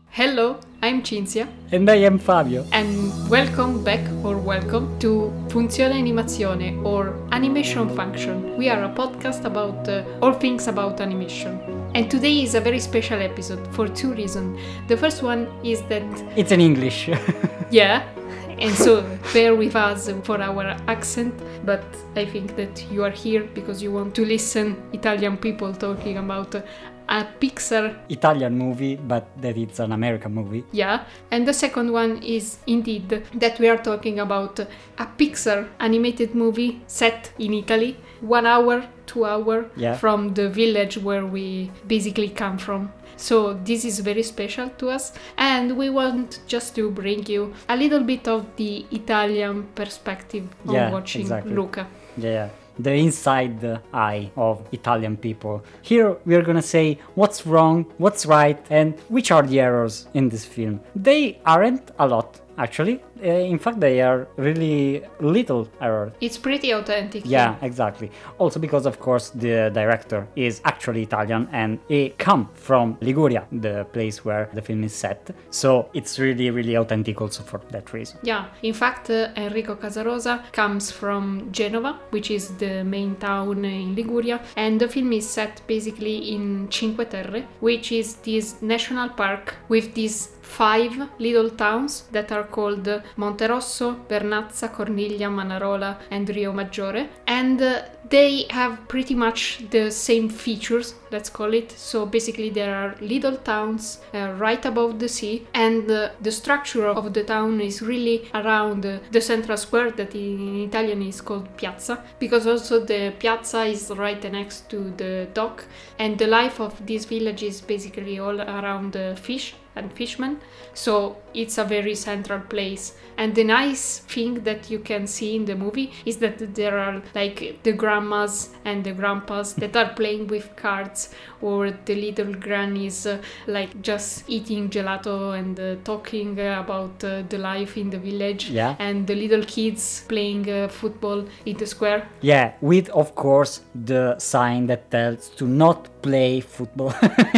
Hello, I'm Cinzia And I am Fabio. and welcome back or welcome to Funzione Animazione or Animation Function. We are a podcast about all things about animation. And today is a very special episode for two reasons. The first one is that, It's in English. yeah, and so bear with us for our accent, but I think that you are here because you want to listen Italian people talking about a Pixar. Italian movie, but that it's an American movie. Yeah, and the second one is indeed that we are talking about a Pixar animated movie set in Italy, 1 hour, 2 hour Yeah. from the village where we basically come from. So this is very special to us, and we want just to bring you a little bit of the Italian perspective on Yeah, watching exactly. Luca. Yeah. The inside eye of Italian people. Here we're gonna say what's wrong, what's right, and which are the errors in this film. They aren't a lot, actually. In fact, they are really little errors. It's pretty authentic. Yeah, exactly. Also because, of course, the director is actually Italian and he come from Liguria, the place where the film is set. So it's really, really authentic also for that reason. Yeah, in fact, Enrico Casarosa comes from Genova, which is the main town in Liguria, and the film is set basically in Cinque Terre, which is this national park with these 5 little towns that are called Monterosso, Vernazza, Corniglia, Manarola, and Rio Maggiore, and they have pretty much the same features, let's call it. So basically there are little towns right above the sea, and the structure of the town is really around the central square that in Italian is called piazza, because also the piazza is right next to the dock, and the life of this village is basically all around fish and fishermen, so it's a very central place. And the nice thing that you can see in the movie is that there are like the grandmas and the grandpas that are playing with cards, or the little grannies like just eating gelato and talking about the life in the village, Yeah. and the little kids playing football in the square. Yeah, with, of course, the sign that tells to not play football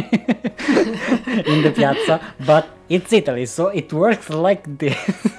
in the piazza, but it's Italy, so it works like this.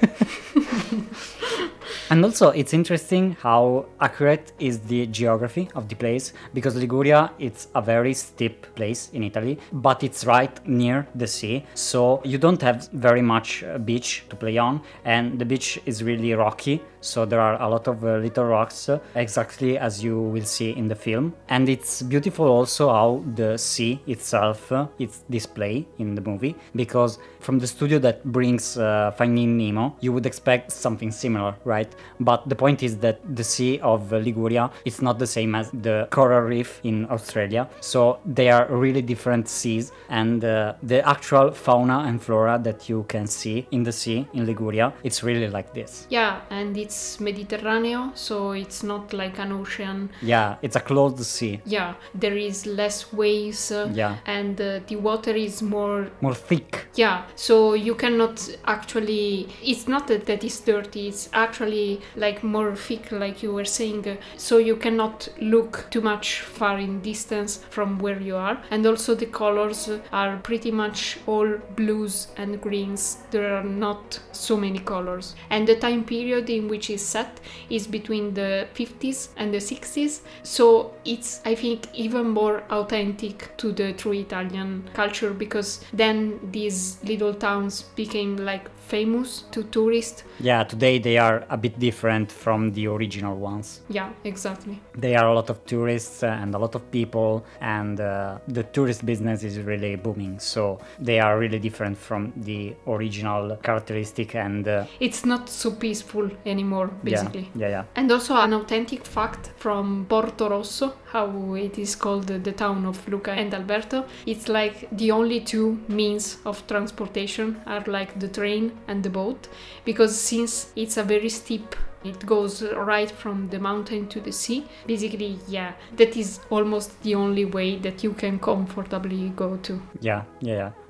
And also, it's interesting how accurate is the geography of the place, because Liguria, it's a very steep place in Italy, but it's right near the sea, so you don't have very much beach to play on, and the beach is really rocky, so there are a lot of little rocks, exactly as you will see in the film. And it's beautiful also how the sea itself is displayed in the movie, because from the studio that brings Finding Nemo, you would expect something similar, right? But the point is that the sea of Liguria is not the same as the coral reef in Australia, so they are really different seas, and the actual fauna and flora that you can see in the sea in Liguria, it's really like this. Yeah, and it's Mediterranean, so it's not like an ocean. Yeah, it's a closed sea. Yeah, there is less waves, Yeah. and the water is more. More thick. Yeah, so you cannot actually. It's not that it's dirty, it's actually like more thick, like you were saying, so you cannot look too much far in distance from where you are. And also the colors are pretty much all blues and greens, there are not so many colors. And the time period in which it's set is between the 50s and the 60s, so it's, I think, even more authentic to the true Italian culture, because then these little towns became like famous to tourists. Yeah, today they are a bit different from the original ones. Yeah, exactly. There are a lot of tourists and a lot of people, and the tourist business is really booming, so they are really different from the original characteristic, and It's not so peaceful anymore, basically. yeah. And also an authentic fact from Porto Rosso, how it is called, the town of Luca and Alberto. It's like the only two means of transportation are like the train and the boat, because since it's a very steep, it goes right from the mountain to the sea. Basically, yeah, that is almost the only way that you can comfortably go to. Yeah.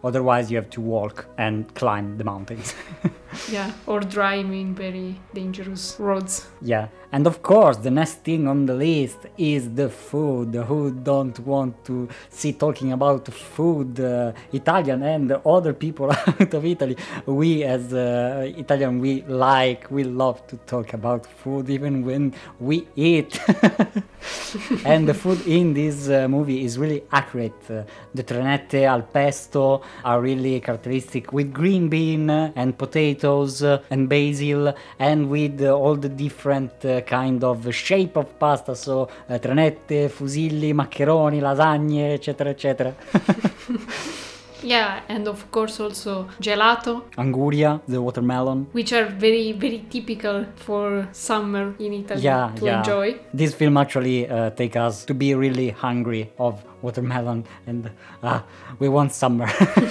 Otherwise, you have to walk and climb the mountains. Yeah, or drive in very dangerous roads. Yeah, and of course, the next thing on the list is the food. Who don't want to see talking about food? Italian and other people out of Italy. We as Italian, we love to talk about food even when we eat. And the food in this movie is really accurate. The trenette al pesto are really characteristic with green bean and potatoes and basil, and with all the different kind of shape of pasta, so trenette, fusilli, maccheroni, lasagne, eccetera, eccetera. Yeah, and of course also gelato, Anguria, the watermelon. which are very, very typical for summer in Italy to enjoy. This film actually take us to be really hungry of watermelon, and we want summer.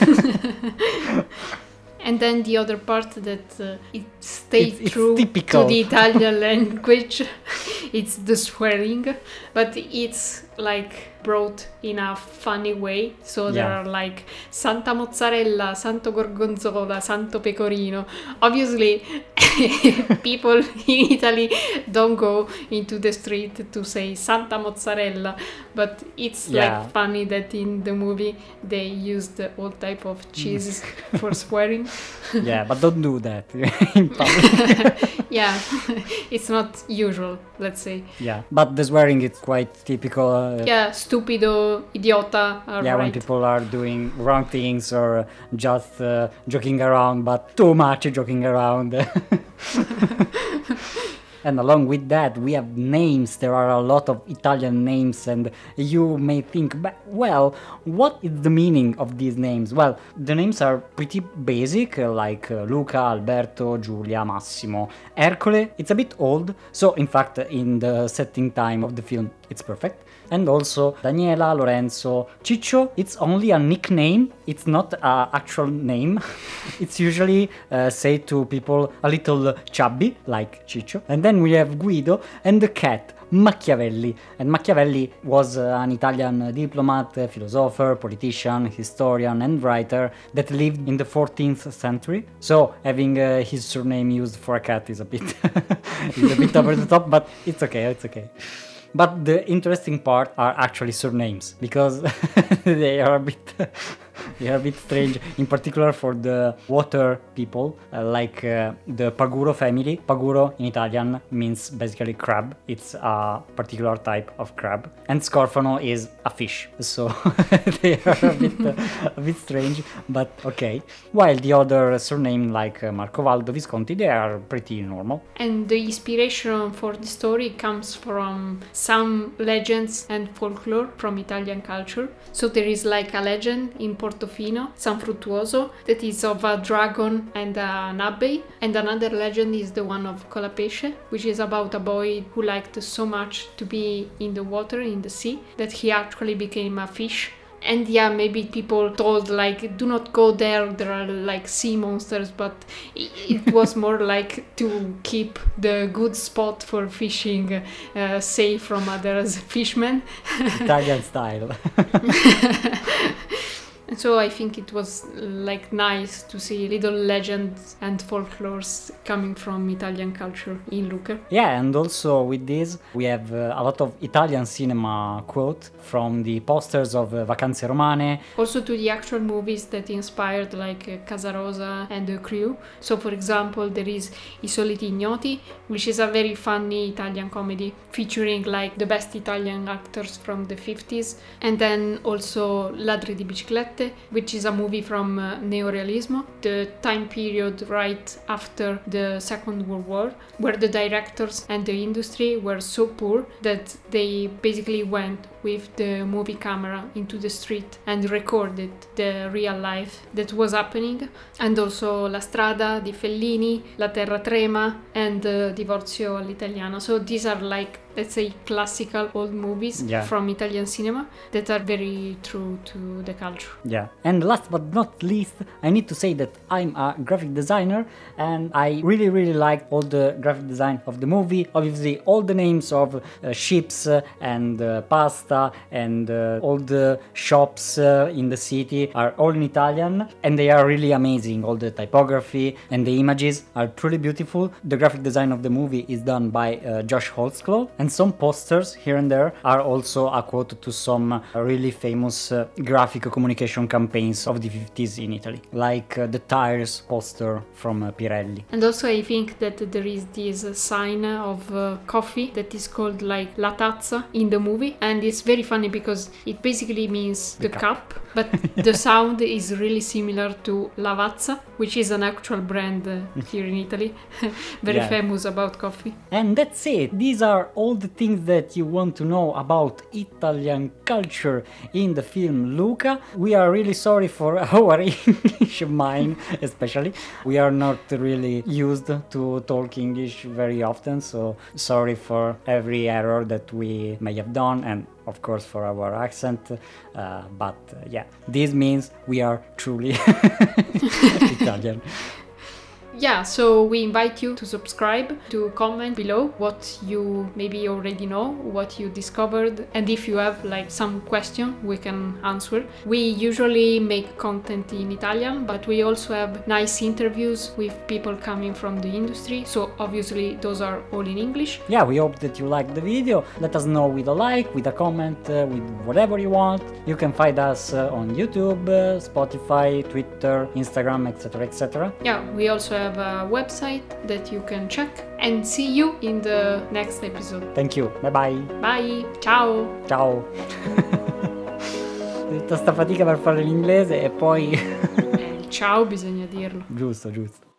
And then the other part that it stays It's true typical. to the Italian language, it's the swearing, but it's like brought in a funny way. So there Yeah. are like Santa Mozzarella, Santo Gorgonzola, Santo Pecorino. Obviously, people in Italy don't go into the street to say Santa Mozzarella, but it's like funny that in the movie they used all type of cheese for swearing. Yeah, but don't do that in public. Yeah, it's not usual, let's say. Yeah, but the swearing is quite typical. Yeah, stupido, idiota, are Yeah, when right. people are doing wrong things or just joking around, but too much joking around. And along with that, we have names. There are a lot of Italian names, and you may think, well, what is the meaning of these names? Well, the names are pretty basic, like Luca, Alberto, Giulia, Massimo. Ercole, it's a bit old, so in fact, in the setting time of the film, it's perfect. And also Daniela, Lorenzo, Ciccio, it's only a nickname, it's not an actual name. It's usually said to people a little chubby, like Ciccio. And then we have Guido and the cat, Machiavelli. And Machiavelli was an Italian diplomat, philosopher, politician, historian and writer that lived in the 14th century. So having his surname used for a cat is a bit, is a bit over the top, but it's okay, it's okay. But the interesting part are actually surnames, because they are a bit strange, in particular for the water people, like the Paguro family. Paguro in Italian means basically crab. It's a particular type of crab. And Scorfano is a fish. So they are a bit strange, but okay. While the other surname like Marcovaldo, Visconti, they are pretty normal. And the inspiration for the story comes from some legends and folklore from Italian culture. So there is like a legend in Portofino, San Fruttuoso, that is of a dragon and an abbey. And another legend is the one of Colapesce, which is about a boy who liked so much to be in the water, in the sea, that he actually became a fish. And yeah, maybe people told like, do not go there are like sea monsters, but it was more like to keep the good spot for fishing safe from others fishermen. Italian style. So I think it was like nice to see little legends and folklores coming from Italian culture in Lucca. Yeah, and also with this we have a lot of Italian cinema quote from the posters of Vacanze Romane. Also to the actual movies that inspired like Casarosa and the crew. So for example there is I Soliti Ignoti, which is a very funny Italian comedy featuring like the best Italian actors from the 50s. And then also Ladri di Biciclette, which is a movie from Neorealismo, the time period right after the Second World War, where the directors and the industry were so poor that they basically went with the movie camera into the street and recorded the real life that was happening. And also La Strada di Fellini, La Terra Trema, and Divorzio all'Italiana. So these are like, let's say, classical old movies from Italian cinema that are very true to the culture. Yeah, and last but not least, I need to say that I'm a graphic designer and I really like all the graphic design of the movie. Obviously all the names of ships and pasta pasta, and all the shops in the city are all in Italian, and they are really amazing. All the typography and the images are truly beautiful. The graphic design of the movie is done by Josh Holtzclaw, and some posters here and there are also a quote to some really famous graphic communication campaigns of the 50s in Italy, like the tires poster from Pirelli. And also I think that there is this sign of coffee that is called like La Tazza in the movie, and it's very funny because it basically means the cup, but the sound is really similar to Lavazza, which is an actual brand here in Italy, very famous about coffee. And that's it. These are all the things that you want to know about Italian culture in the film Luca. We are really sorry for our English, mine especially. We are not really used to talk English very often, so sorry for every error that we may have done, and of course for our accent, but this means we are truly Italian. Yeah, so we invite you to subscribe, to comment below what you maybe already know, what you discovered, and if you have like some question we can answer. We usually make content in Italian, but we also have nice interviews with people coming from the industry, so obviously those are all in English. Yeah, we hope that you liked the video. Let us know with a like, with a comment, with whatever you want. You can find us on YouTube, Spotify, Twitter, Instagram, etc, etc. Yeah, we also have a website that you can check, and see you in the next episode. Thank you, bye bye. Bye, ciao. Ciao. Tutta sta fatica per fare l'inglese e poi Ciao bisogna dirlo. giusto.